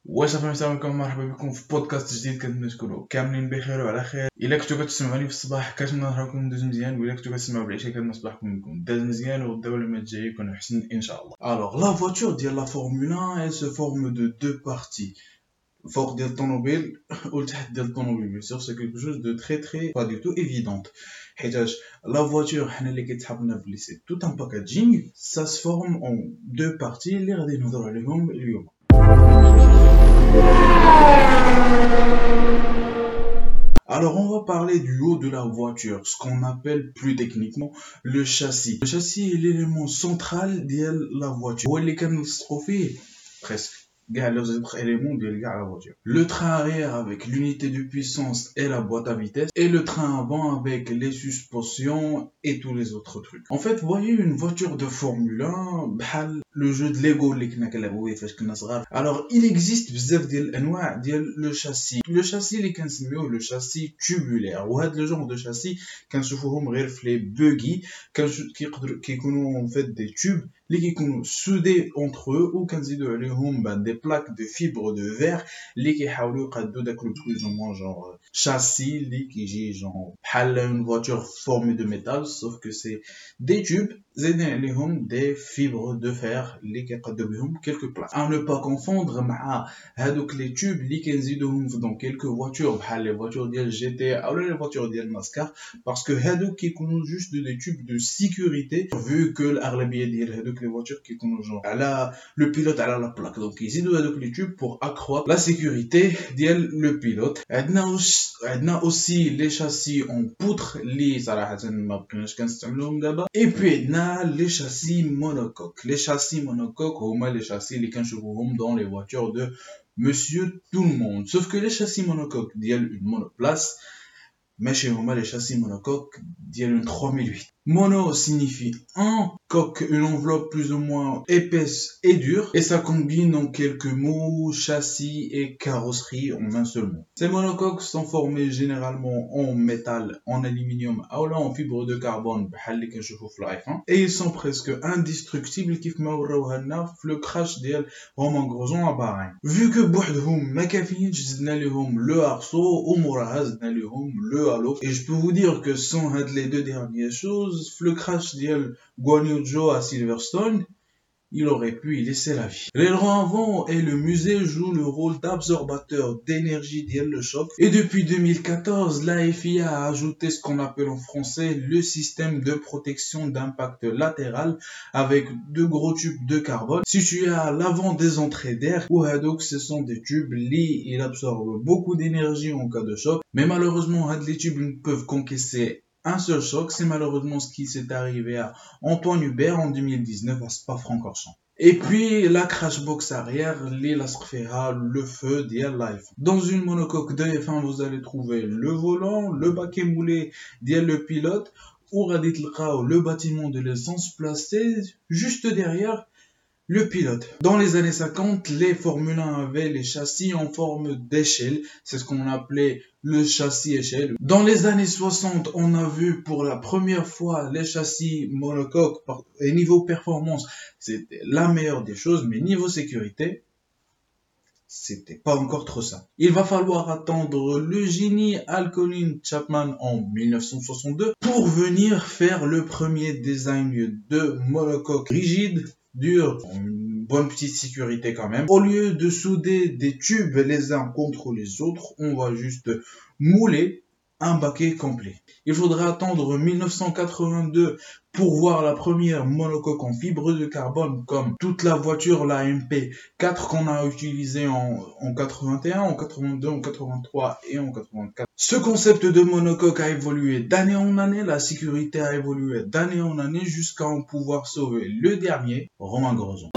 وصافي السلام عليكم، مرحبا بكم في بودكاست جديد. كنتمنى تكونوا كاملين بخير وعلى خير. الا كنتو كتسمعوني في الصباح كنتمنى نهاركم دوز مزيان، وإلا كنتو كتسمعوا بالعشاء كنتمنى صباحكم يكون داز مزيان وغدا واليوم الجاي يكون احسن ان شاء الله. Alors la voiture ديال la Formule 1 elle se forme de deux parties. Fort ديال الطوموبيل والتحت ديال الطوموبيل bien sûr c'est quelque chose de très pas du tout évidente. حيتاش la voiture حنا اللي كيتحط لنا بلي c'est tout un packaging, ça se forme en deux parties اللي غادي نهضروا عليهم اليوم. Alors on va parler du haut de la voiture, ce qu'on appelle plus techniquement le châssis. Le châssis est l'élément central de la voiture. هو اللي كنلصقوا فيه presque كاع les autres éléments de la voiture. Le train arrière avec l'unité de puissance et la boîte à vitesse, et le train avant avec les suspensions et tous les autres trucs. En fait, vous voyez une voiture de Formule 1 بحال le jeu de Lego اللي كنا كنلعبوا فيه فاش كنا صغار. Alors il existe بزاف ديال الانواع ديال le châssis اللي كنسميوه le châssis tubulaire. وهاد le genre de châssis كنشوفوهم غير في لي بوغي كيكونوا en fait des tubes اللي كيكونوا soudés entre eux وكنزيدوا عليهم des plaques de fibres de verre اللي كيحاولوا يقادوا داك لو plus ou moins genre châssis اللي كيجي genre بحال une voiture formée de métal sauf que c'est des tubes زايدين عليهم des fibres de fer اللي كيقادوا بهم quelques plaques. À ne pas confondre مع هادوك les tubes اللي كنزيدوهم dans quelques voitures بحال les voitures ديال GT ou les voitures ديال NASCAR parce que هادوك كيكونوا juste des tubes de sécurité vu que الأغلبية ديال هادوك les voitures كيكونوا genre على le pilote على la plaque, donc يزيدوا هادوك les tubes pour accroître la sécurité ديال le pilote. عندنا aussi les châssis en poutre اللي صراحة ما بقيناش كنستعملوهم دابا. et puis عندنا les châssis monocoques. Les châssis monocoques هما les châssis اللي كنشوفوهم dans les voitures de monsieur tout le monde, sauf que les châssis monocoques ديال une monoplace ماشي هما les châssis monocoques ديال une 3008. Mono signifie un, coque une enveloppe plus ou moins épaisse et dure, et ça combine en quelques mots châssis et carrosserie en un seul mot. Ces monocoques sont formés généralement en métal, en aluminium ou en fibre de carbone بحال اللي كنشوفوا في l'iPhone, et ils sont presque indestructibles كيف ما وراوها لنا في le crash ديال Romain Grosjean à Bahreïn. Vu que بوحدهم ما كافيينش زدنا ليهم le arceau وموراها زدنا ليهم le halo, et je peux vous dire que sans هاد les deux dernières choses le crash ديال Guan Yu Zhou à Silverstone, il aurait pu y laisser la vie. L'aileron avant et le musée jouent le rôle d'absorbateur d'énergie ديال le choc, et depuis 2014 la FIA a ajouté ce qu'on appelle en français le système de protection d'impact latéral avec deux gros tubes de carbone situés à l'avant des entrées d'air. وهادوك ce sont des tubes ils absorbent beaucoup d'énergie en cas de choc, mais malheureusement les tubes ne peuvent qu'encaisser un seul choc. C'est malheureusement ce qui s'est arrivé à Antoine Hubert en 2019 à Spa-Francorchamps. Et puis la crash box arrière, le feu ديال l'iPhone. Dans une monocoque de F1 vous allez trouver le volant, le baquet moulé ديال le pilote, ou غادي تلقاو le bâtiment de l'essence placé juste derrière le pilote. Dans les années 50, les Formule 1 avaient les châssis en forme d'échelle, c'est ce qu'on appelait le châssis échelle. Dans les années 60, on a vu pour la première fois les châssis monocoques, et niveau performance, c'était la meilleure des choses, mais niveau sécurité, c'était pas encore trop ça. Il va falloir attendre le génie Al Colin Chapman en 1962 pour venir faire le premier design de monocoque rigide, dur, une bonne petite sécurité quand même. Au lieu de souder des tubes les uns contre les autres, on va juste mouler un baquet complet. Il faudra attendre 1982 pour voir la première monocoque en fibre de carbone comme toute la voiture, la MP4 qu'on a utilisée en 81, en 82, en 83 et en 84. Ce concept de monocoque a évolué d'année en année, la sécurité a évolué d'année en année jusqu'à en pouvoir sauver le dernier, Romain Grosjean.